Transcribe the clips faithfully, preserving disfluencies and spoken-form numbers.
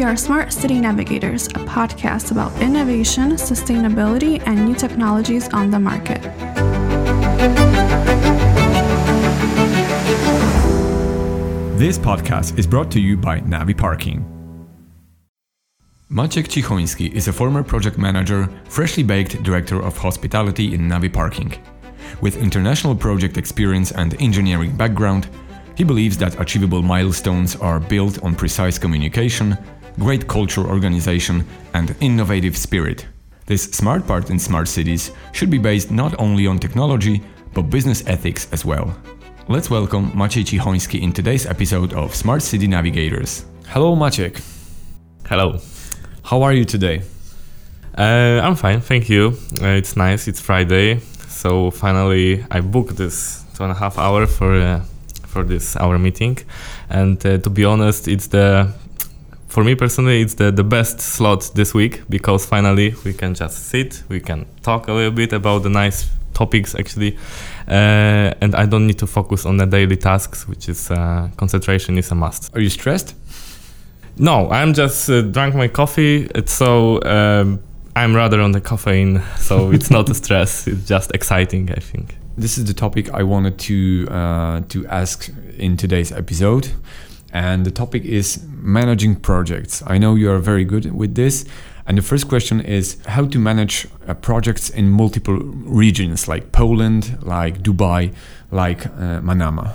are Smart City Navigators, a podcast about innovation, sustainability, and new technologies on the market. This podcast is brought to you by Navi Parking. Maciek Cichoński is a former project manager, freshly baked director of hospitality in Navi Parking. With international project experience and engineering background, he believes that achievable milestones are built on precise communication, great culture organization, and innovative spirit. This smart part in smart cities should be based not only on technology, but business ethics as well. Let's welcome Maciej Cichoński in today's episode of Smart City Navigators. Hello, Maciek. Hello. How are you today? Uh, I'm fine, thank you. Uh, it's nice, it's Friday, so finally I booked this two and a half hour for uh, for this our meeting, and uh, to be honest, it's the for me personally it's the, the best slot this week, because finally we can just sit, we can talk a little bit about the nice topics actually, uh, and I don't need to focus on the daily tasks, which is uh, concentration is a must. Are you stressed? No, I'm just uh, drank my coffee, it's so um, I'm rather on the caffeine, so it's not a stress, it's just exciting, I think. This is the topic I wanted to uh, to ask in today's episode, and the topic is managing projects. I know you are very good with this, and the first question is how to manage uh, projects in multiple regions, like Poland, like Dubai, like uh, Manama.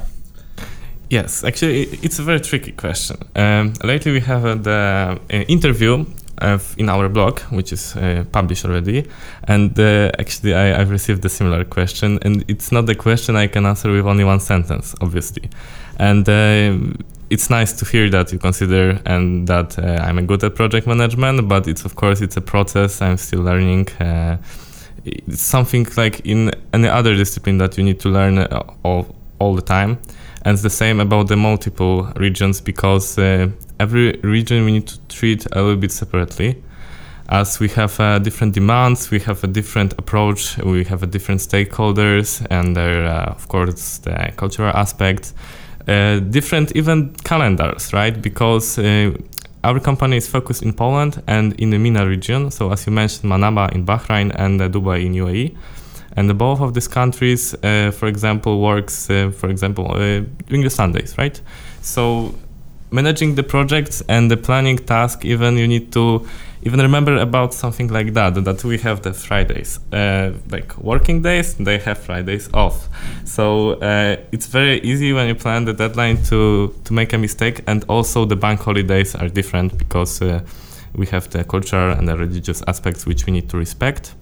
Yes, actually, it's a very tricky question. Um, lately, we have uh, the uh, interview uh, in our blog, which is uh, published already, and uh, actually, I, I've received a similar question, and it's not the question I can answer with only one sentence, obviously. And uh, it's nice to hear that you consider and that uh, I'm a good at project management, but it's of course it's a process. I'm still learning. Uh, it's something like in any other discipline that you need to learn uh, all all the time. And it's the same about the multiple regions, because uh, every region we need to treat a little bit separately, as we have uh, different demands, we have a different approach, we have a different stakeholders, and there, uh, of course, the cultural aspects, uh, different even calendars, right? Because uh, our company is focused in Poland and in the MENA region. So as you mentioned, Manama in Bahrain and uh, Dubai in U A E. And both of these countries, uh, for example, works, uh, for example, uh, during the Sundays, right? So managing the projects and the planning task, even you need to even remember about something like that, that we have the Fridays, uh, like working days, they have Fridays off. So uh, it's very easy when you plan the deadline to, to make a mistake. And also the bank holidays are different, because uh, we have the cultural and the religious aspects which we need to respect.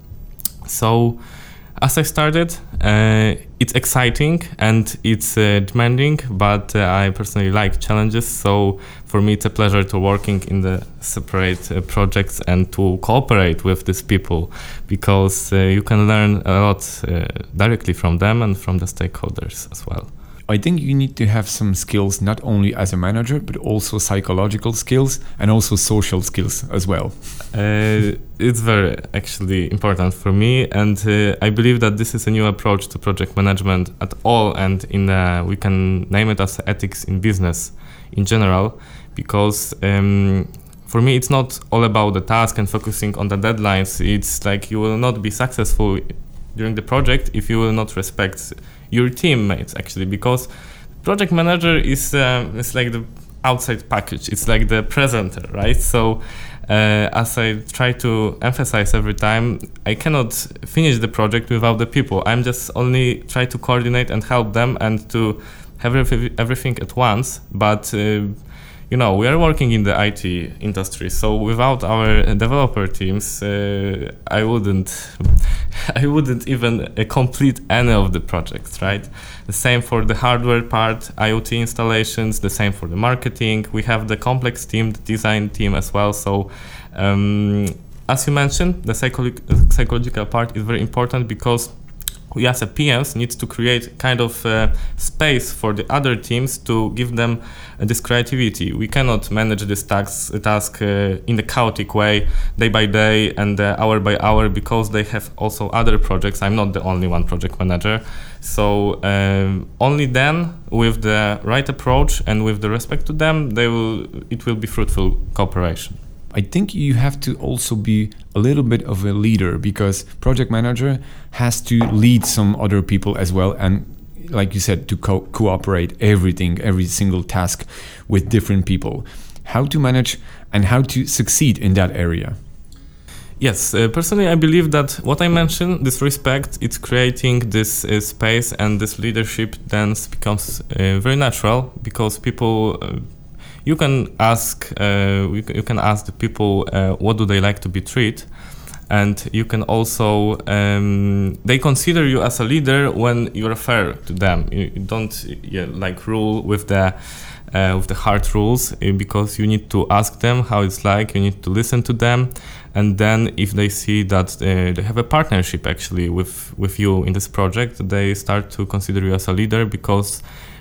So as I started, uh, it's exciting and it's uh, demanding, but uh, I personally like challenges. So for me, it's a pleasure to working in the separate uh, projects and to cooperate with these people, because uh, you can learn a lot uh, directly from them and from the stakeholders as well. I think you need to have some skills, not only as a manager, but also psychological skills and also social skills as well. Uh, it's very actually important for me, and uh, I believe that this is a new approach to project management at all, and in uh, we can name it as ethics in business in general, because um, for me it's not all about the task and focusing on the deadlines. It's like you will not be successful during the project if you will not respect your teammates, actually, because project manager is um, it's like the outside package, it's like the presenter, right? So uh, as I try to emphasize every time, I cannot finish the project without the people. I'm just only try to coordinate and help them and to have everything at once, but uh, you know, we are working in the I T industry, so without our developer teams, uh, I wouldn't, I wouldn't even uh, complete any of the projects, right? The same for the hardware part, IoT installations. The same for the marketing. We have the complex team, the design team as well. So, um, as you mentioned, the psycholo- psychological part is very important, because we as a P Ms need to create kind of uh, space for the other teams to give them uh, this creativity. We cannot manage this task, task uh, in the chaotic way, day by day and uh, hour by hour, because they have also other projects. I'm not the only one project manager. So um, only then, with the right approach and with the respect to them, they will. It will be fruitful cooperation. I think you have to also be a little bit of a leader, because project manager has to lead some other people as well, and like you said, to co- cooperate everything, every single task with different people. How to manage and how to succeed in that area? Yes, uh, personally I believe that what I mentioned, this respect, it's creating this uh, space, and this leadership then becomes uh, very natural, because people... Uh, You can ask, uh, you can ask the people uh, what do they like to be treated, and you can also um, they consider you as a leader when you refer to them. You, you don't yeah, like rule with the uh, with the hard rules, uh, because you need to ask them how it's like. You need to listen to them, and then if they see that uh, they have a partnership actually with with you in this project, they start to consider you as a leader, because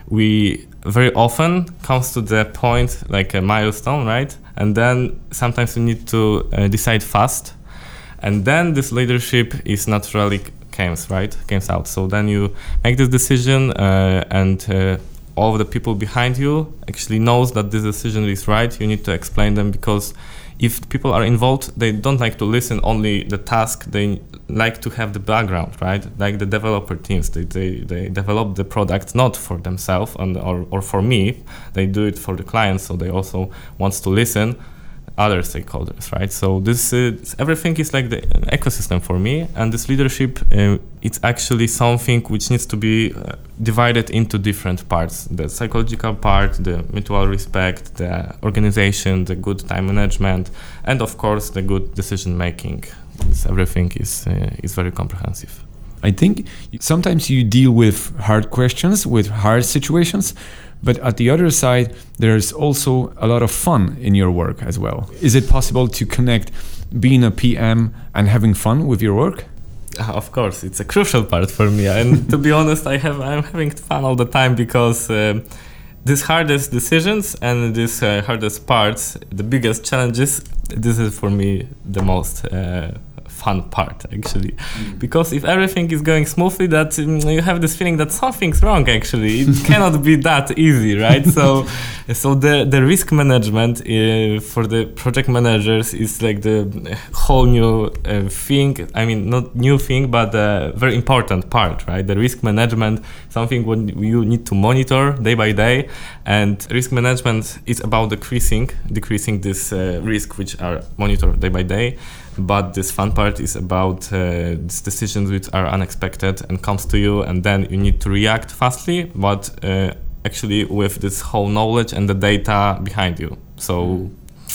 we very often comes to the point like a milestone, right? And then sometimes we need to uh, decide fast, and then this leadership is naturally comes right comes out. So then you make this decision, uh, and uh, all of the people behind you actually knows that this decision is right. You need to explain them, because if people are involved, they don't like to listen only the task. They like to have the background, right? Like the developer teams, they they, they develop the product not for themselves and or, or for me. They do it for the clients, so they also wants to listen other stakeholders, right? So this uh, everything is like the ecosystem for me, and this leadership, uh, it's actually something which needs to be uh, divided into different parts: the psychological part, the mutual respect, the organization, the good time management, and of course the good decision making. This everything is uh, is very comprehensive. I think sometimes you deal with hard questions, with hard situations, but at the other side, there's also a lot of fun in your work as well. Is it possible to connect being a P M and having fun with your work? Uh, of course, it's a crucial part for me. And to be honest, I have I'm having fun all the time, because uh, these hardest decisions and these uh, hardest parts, the biggest challenges, this is for me the most uh, fun part actually, mm. because if everything is going smoothly, that um, you have this feeling that something's wrong actually. It cannot be that easy, right? So so the the risk management uh, for the project managers is like the whole new uh, thing. I mean, not new thing, but a very important part, right? The risk management, something when you need to monitor day by day, and risk management is about decreasing decreasing this uh, risk which are monitored day by day. But this fun part is about uh, these decisions which are unexpected and comes to you, and then you need to react fastly, but uh, actually with this whole knowledge and the data behind you. So, mm.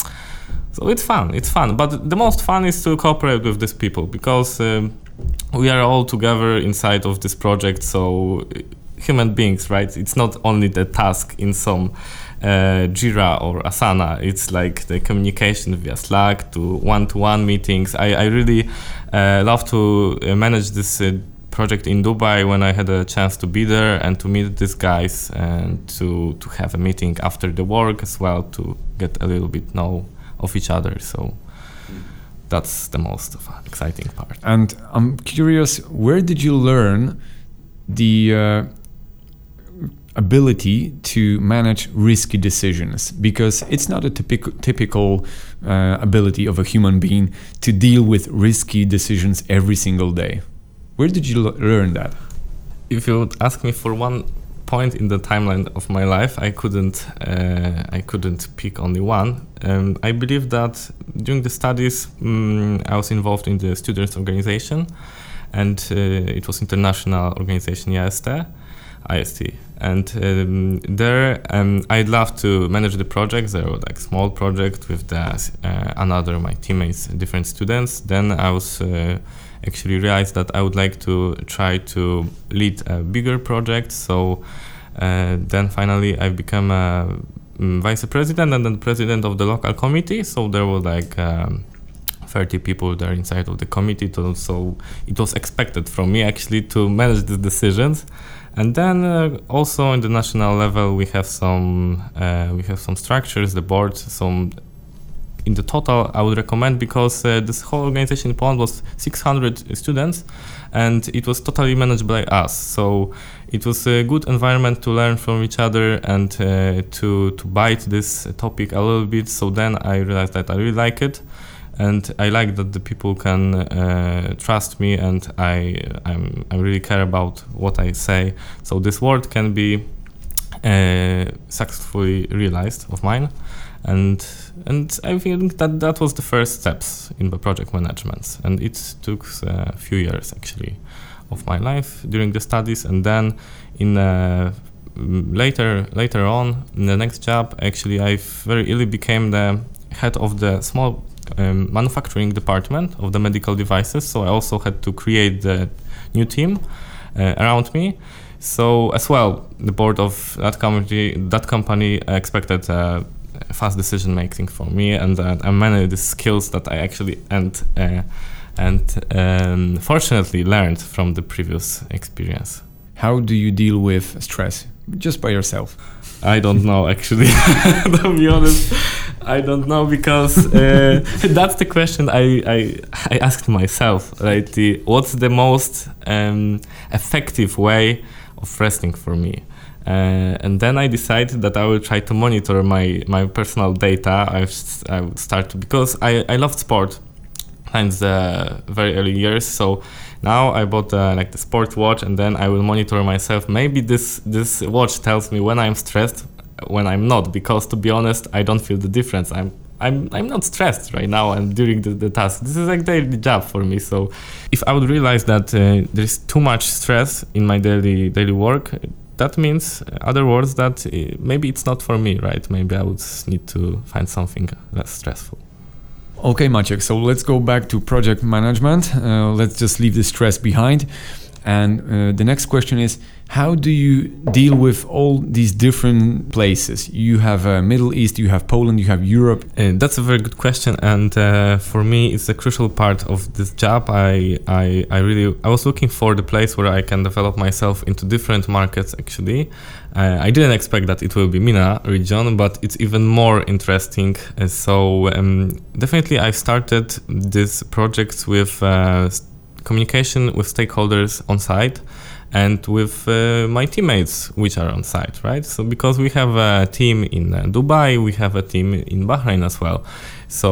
so it's fun. It's fun. But the most fun is to cooperate with these people, because um, we are all together inside of this project. So human beings, right? It's not only the task in some Uh, Jira or Asana. It's like the communication via Slack to one-to-one meetings. I, I really uh, love to uh, manage this uh, project in Dubai when I had a chance to be there and to meet these guys and to, to have a meeting after the work as well, to get a little bit know of each other. So that's the most exciting part. And I'm curious, where did you learn the uh, ability to manage risky decisions? Because it's not a typical typical uh, ability of a human being to deal with risky decisions every single day. Where did you l- learn that? If you would ask me for one point in the timeline of my life, I couldn't uh, I couldn't pick only one. Um, I believe that during the studies um, I was involved in the students' organization, and uh, it was international organization I S T. I S T. And um, there um, I'd love to manage the projects. There were like small projects with the, uh, another my teammates, different students. Then I was uh, actually realized that I would like to try to lead a bigger project. So uh, then finally I became a um, vice president and then president of the local committee. So there were like um, thirty people there inside of the committee. To, so it was expected from me actually to manage the decisions. And then uh, also in the national level, we have some uh, we have some structures, the board. Some in the total, I would recommend, because uh, this whole organization in Poland was six hundred students, and it was totally managed by us. So it was a good environment to learn from each other and uh, to to bite this topic a little bit. So then I realized that I really like it. And I like that the people can uh, trust me, and I I'm, I really care about what I say. So this word can be uh, successfully realized of mine, and and I think that that was the first steps in the project management. And it took a few years actually of my life during the studies, and then in uh, later later on in the next job, actually I very early became the head of the small Um, manufacturing department of the medical devices. So I also had to create the new team uh, around me. So as well, the board of that company that company expected uh, fast decision making from me, and uh, and many the skills that I actually and uh, and um, fortunately learned from the previous experience. How do you deal with stress? Just by yourself? I don't know, actually. To be honest, I don't know, because uh, that's the question I, I I asked myself. Right? The, what's the most um, effective way of resting for me? Uh, and then I decided that I will try to monitor my, my personal data. I've, I would start to, because I, I loved sport since the very early years. So now I bought uh, like the sport watch, and then I will monitor myself. Maybe this this watch tells me when I'm stressed, when I'm not. Because to be honest, I don't feel the difference. I'm I'm I'm not stressed right now and during the, the task. This is like daily job for me. So if I would realize that uh, there's too much stress in my daily daily work, that means, in other words, that uh, maybe it's not for me, right? Maybe I would need to find something less stressful. Okay, Maciek, so let's go back to project management. Uh, let's just leave the stress behind. And uh, the next question is, how do you deal with all these different places? You have uh, Middle East, you have Poland, you have Europe. Uh, that's a very good question, and uh, for me, it's a crucial part of this job. I, I, I really, I was looking for the place where I can develop myself into different markets. Actually, uh, I didn't expect that it will be MENA region, but it's even more interesting. Uh, so um, definitely, I started this project with uh, communication with stakeholders on site, and with uh, my teammates which are on site, right? So because we have a team in uh, Dubai, we have a team in Bahrain as well. So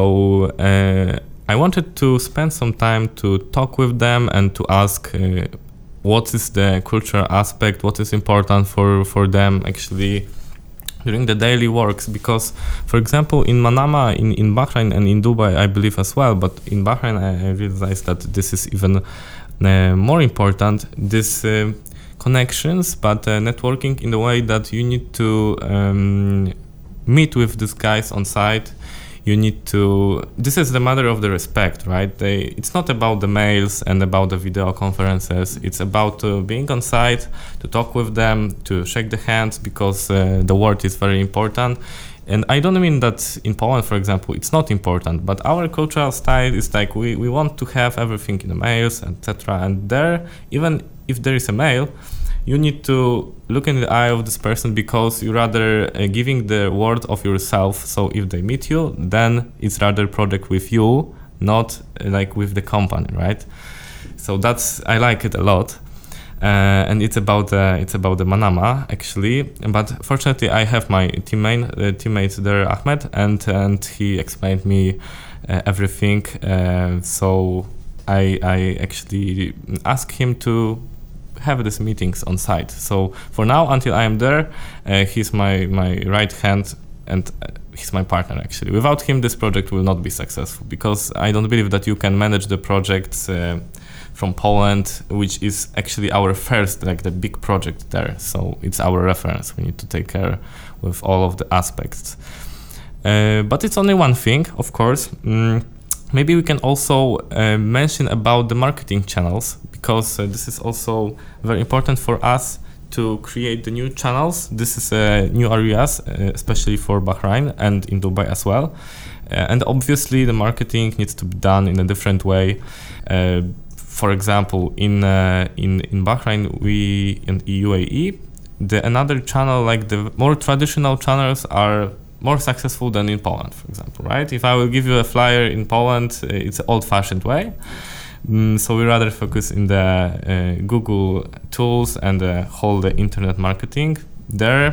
uh, I wanted to spend some time to talk with them and to ask uh, what is the cultural aspect, what is important for, for them actually during the daily works. Because, for example, in Manama, in, in Bahrain and in Dubai, I believe as well, but in Bahrain I, I realized that this is even Uh, more important, this uh, connections, but uh, networking in the way that you need to um, meet with these guys on site. You need to, this is the matter of the respect, right? They, it's not about the mails and about the video conferences. It's about uh, being on site, to talk with them, to shake the hands, because uh, the word is very important. And I don't mean that in Poland, for example, it's not important, but our cultural style is like we, we want to have everything in the mails, et cetera. And there, even if there is a mail, you need to look in the eye of this person, because you're rather uh, giving the word of yourself. So if they meet you, then it's rather project with you, not uh, like with the company, right? So that's, I like it a lot. Uh, and it's about uh, it's about the Manama actually, but fortunately I have my teammate uh, teammate there, Ahmed, and and he explained me uh, everything. Uh, so I I actually asked him to have these meetings on site. So for now, until I am there, uh, he's my my right hand, and uh, he's my partner actually. Without him, this project will not be successful, because I don't believe that you can manage the projects Uh, from Poland, which is actually our first, like the big project there. So it's our reference. We need to take care with all of the aspects. Uh, but it's only one thing, of course. Mm, maybe we can also uh, mention about the marketing channels, because uh, this is also very important for us to create the new channels. This is uh, new areas, uh, especially for Bahrain and in Dubai as well. Uh, and obviously the marketing needs to be done in a different way. Uh, for example, in uh, in in Bahrain, we in U A E, the another channel, like the more traditional channels, are more successful than in Poland, for example, right? If I will give you a flyer in Poland, uh, it's an old-fashioned way. Mm, so we rather focus in the uh, Google tools and the whole the internet marketing. There,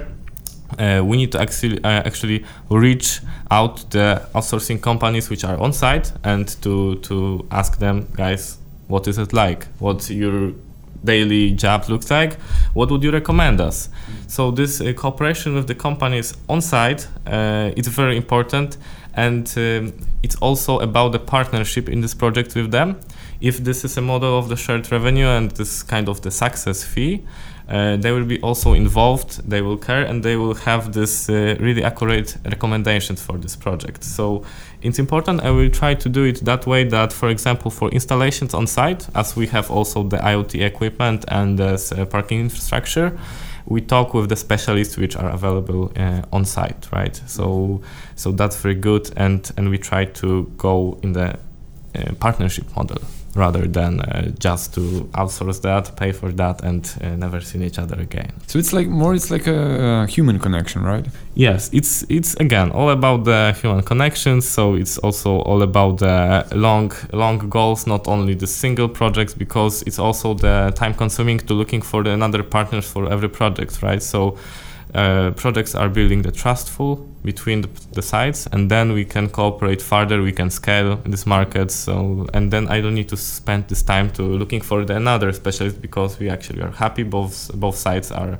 uh, we need to actually uh, actually reach out the outsourcing companies which are on site and to to ask them, guys, what is it like? What your daily job looks like? What would you recommend us? So this uh, cooperation with the companies on site, uh, it's very important, and um, it's also about the partnership in this project with them. If this is a model of the shared revenue and this kind of the success fee, uh, they will be also involved, they will care, and they will have this uh, really accurate recommendations for this project. So it's important, and we'll try to do it that way that, for example, for installations on site, as we have also the IoT equipment and the uh, parking infrastructure, we talk with the specialists which are available uh, on site, right? So so that's very good, and, and we try to go in the uh, partnership model, rather than uh, just to outsource that, pay for that, and uh, never see each other again. So it's like more, it's like a, a human connection, right? Yes, it's it's again all about the human connections. So it's also all about the long long goals, not only the single projects, because it's also the time consuming to looking for the another partners for every project, right? So uh, projects are building the trustful between the, the sides, and then we can cooperate further, we can scale in this market. So, and then I don't need to spend this time to looking for the another specialist, because we actually are happy. Both both sides are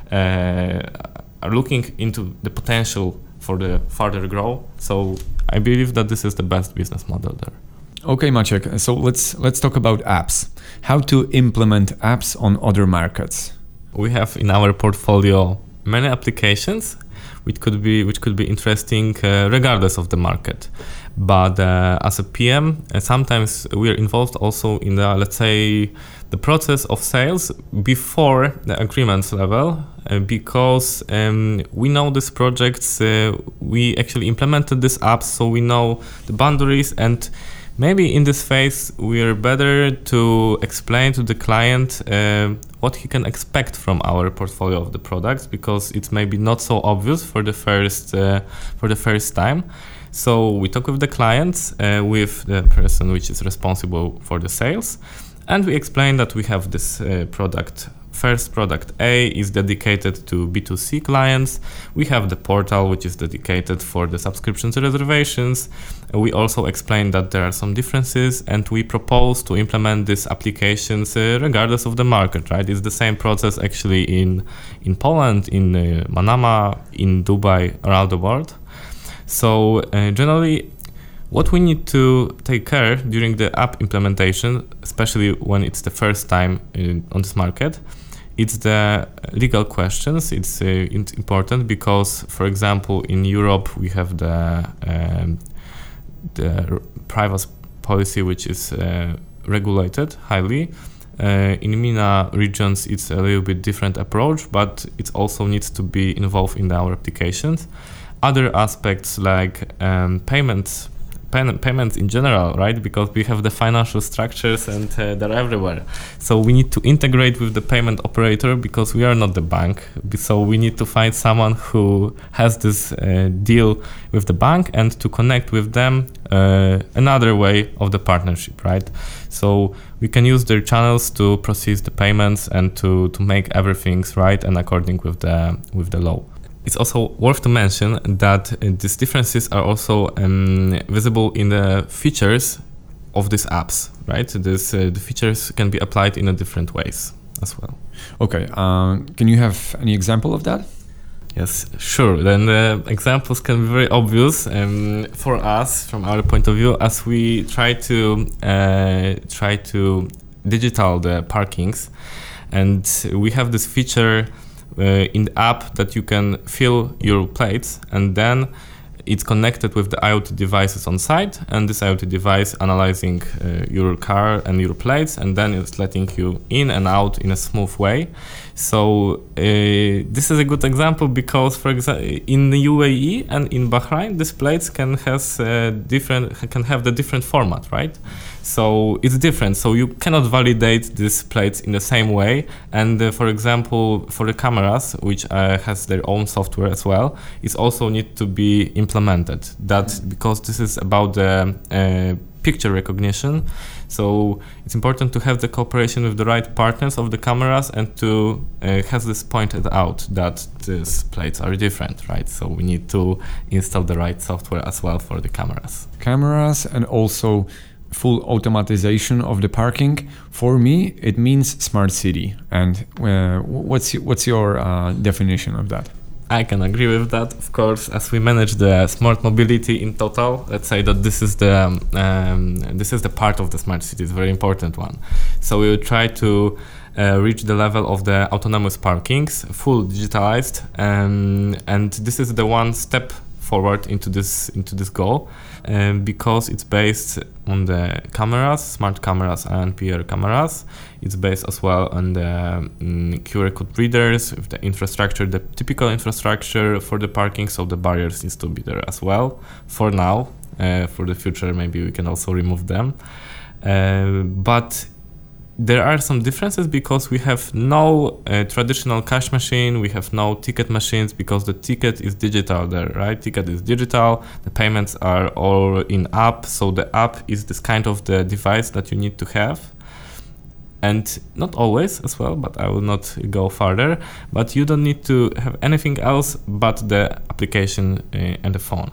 uh, are looking into the potential for the further grow. So I believe that this is the best business model there. Okay, Maciek. So let's let's talk about apps. How to implement apps on other markets? We have in our portfolio many applications which could be which could be interesting uh, regardless of the market. But uh, as a P M, uh, sometimes we are involved also in the, let's say, the process of sales before the agreements level, uh, because um, we know these projects, uh, we actually implemented these apps, so we know the boundaries, and maybe in this phase we are better to explain to the client uh, what he can expect from our portfolio of the products, because it's maybe not so obvious for the first uh, for the first time. So we talk with the clients, uh, with the person which is responsible for the sales, and we explain that we have this uh, product. First, product A is dedicated to B two C clients. We have the portal which is dedicated for the subscriptions and reservations. We also explain that there are some differences, and we propose to implement these applications uh, regardless of the market, right? It's the same process actually in in Poland, in uh, Manama, in Dubai, around the world. So uh, generally, what we need to take care during the app implementation, especially when it's the first time in, on this market, it's the legal questions. It's uh, it's important because, for example, in Europe we have the um, the privacy policy which is uh, regulated highly. Uh, in MENA regions, it's a little bit different approach, but it also needs to be involved in our applications. Other aspects like um, payments. Payments in general, right? Because we have the financial structures and uh, they're everywhere. So we need to integrate with the payment operator, because we are not the bank. So we need to find someone who has this uh, deal with the bank and to connect with them uh, another way of the partnership, right? So we can use their channels to process the payments and to, to make everything right and according with the with the law. It's also worth to mention that uh, these differences are also um, visible in the features of these apps, right? This, uh, the features can be applied in a different ways as well. Okay, uh, can you have any example of that? Yes, sure. Then the examples can be very obvious um, for us from our point of view, as we try to uh, try to digital the parkings, and we have this feature Uh, in the app that you can fill your plates, and then it's connected with the IoT devices on site, and this IoT device analyzing uh, your car and your plates, and then it's letting you in and out in a smooth way. So uh, this is a good example because, for example, in the U A E and in Bahrain, these plates can has uh, different can have the different format, right? So it's different. So you cannot validate these plates in the same way. And uh, for example, for the cameras, which uh, has their own software as well, it also need to be implemented. That because this is about the uh, picture recognition. So it's important to have the cooperation with the right partners of the cameras and to uh, have this pointed out that these plates are different, right? So we need to install the right software as well for the cameras. Cameras and also full automatization of the parking. For me, it means smart city. And uh, what's what's your uh, definition of that? I can agree with that, of course. As we manage the smart mobility in total, let's say that this is the um, this is the part of the smart city, it's a very important one. So we will try to uh, reach the level of the autonomous parkings, full digitalized, um, and this is the one step forward into this into this goal, um, because it's based on the cameras, smart cameras and P R cameras. It's based as well on the um, Q R code readers, with the infrastructure, the typical infrastructure for the parking, so the barriers needs to be there as well. For now, uh, for the future, maybe we can also remove them. Uh, but there are some differences because we have no uh, traditional cash machine, we have no ticket machines because the ticket is digital there, right? Ticket is digital, the payments are all in app, so the app is this kind of the device that you need to have. And not always as well, but I will not go further, but you don't need to have anything else but the application uh, and the phone.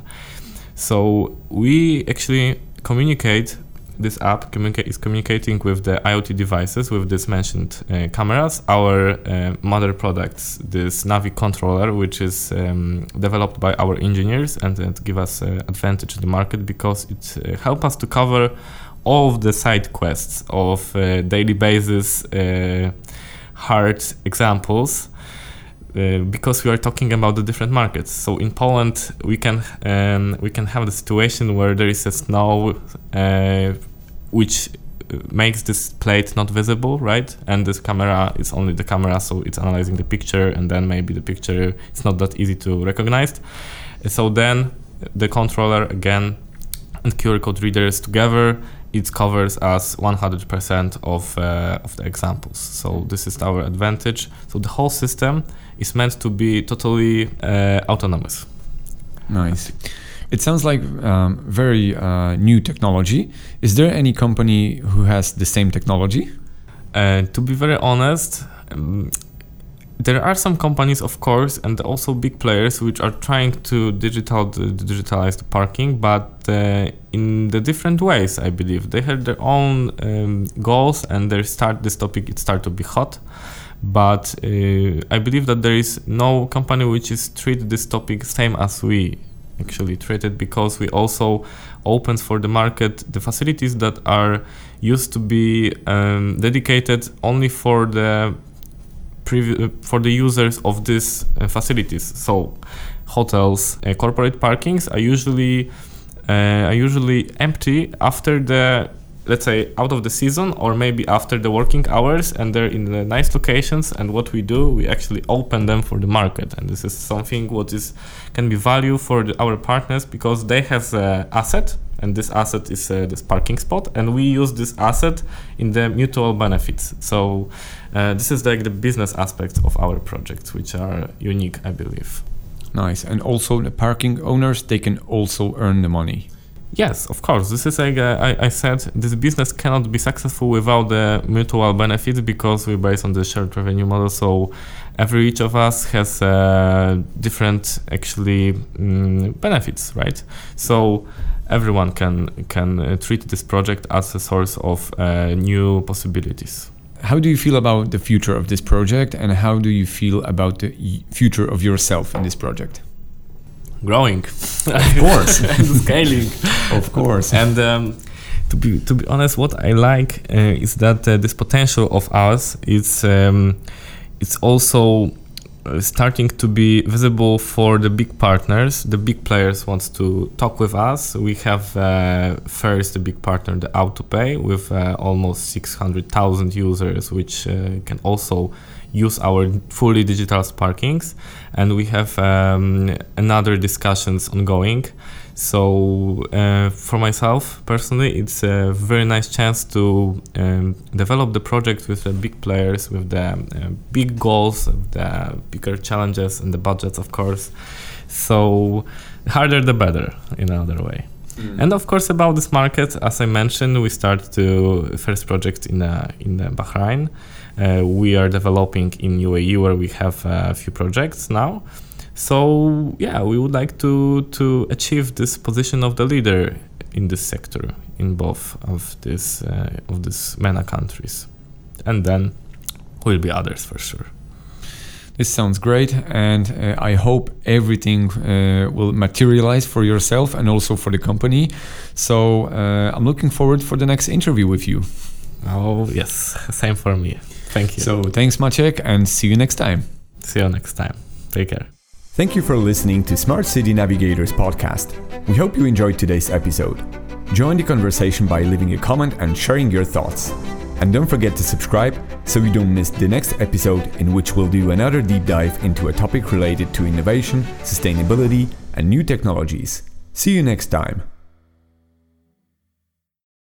So we actually communicate. This app communica- is communicating with the IoT devices, with this mentioned uh, cameras, our uh, mother products, this Navi controller, which is um, developed by our engineers and it give us uh, advantage in the market because it uh, helps us to cover all of the side quests of uh, daily basis uh, hard examples. Uh, because we are talking about the different markets. So in Poland, we can um, we can have the situation where there is a snow, uh, which makes this plate not visible, right? And this camera is only the camera, so it's analyzing the picture, and then maybe the picture is not that easy to recognize. So then the controller again and Q R code readers together, it covers us one hundred percent of uh, of the examples. So this is our advantage. So the whole system is meant to be totally uh, autonomous. Nice. It sounds like um, very uh, new technology. Is there any company who has the same technology? Uh, to be very honest, um, there are some companies, of course, and also big players which are trying to digital to digitalize the parking, but uh, in the different ways. I believe they have their own um, goals, and they start this topic. It start to be hot, but uh, I believe that there is no company which is treat this topic same as we actually treat it, because we also open for the market the facilities that are used to be um, dedicated only for the Previ- for the users of these uh, facilities. So hotels, uh, corporate parkings are usually uh, are usually empty after the, let's say, out of the season, or maybe after the working hours, and they're in the nice locations. And what we do, we actually open them for the market, and this is something what is can be value for the, our partners, because they have an asset, and this asset is uh, this parking spot, and we use this asset in the mutual benefits. So uh, this is like the business aspects of our projects, which are unique, I believe. Nice. And also the parking owners, they can also earn the money. Yes, of course. This is like uh, I, I said, this business cannot be successful without the mutual benefits, because we're based on the shared revenue model. So every each of us has uh, different actually um, benefits, right? So everyone can can uh, treat this project as a source of uh, new possibilities. How do you feel about the future of this project, and how do you feel about the y- future of yourself in this project? Growing, of course, scaling, of course. And um, to be to be honest, what I like uh, is that uh, this potential of us is um, it's also uh, starting to be visible for the big partners. The big players wants to talk with us. We have uh, first the big partner, the AutoPay, with uh, almost six hundred thousand users, which uh, can also use our fully digital Sparkings, and we have um, another discussions ongoing. So uh, for myself personally, it's a very nice chance to um, develop the project with the big players, with the uh, big goals, the bigger challenges, and the budgets, of course. So harder the better, in another way. Mm. And of course, about this market, as I mentioned, we start to first project in uh, in uh, Bahrain. Uh, we are developing in U A E, where we have a few projects now. So yeah, we would like to to achieve this position of the leader in this sector in both of this uh, of these MENA countries, and then will be others for sure. This sounds great, and uh, I hope everything uh, will materialize for yourself and also for the company. So uh, I'm looking forward for the next interview with you. Oh yes, same for me. Thank you. So thanks, Maciek, and see you next time. See you next time. Take care. Thank you for listening to Smart City Navigators podcast. We hope you enjoyed today's episode. Join the conversation by leaving a comment and sharing your thoughts. And don't forget to subscribe so you don't miss the next episode, in which we'll do another deep dive into a topic related to innovation, sustainability, and new technologies. See you next time.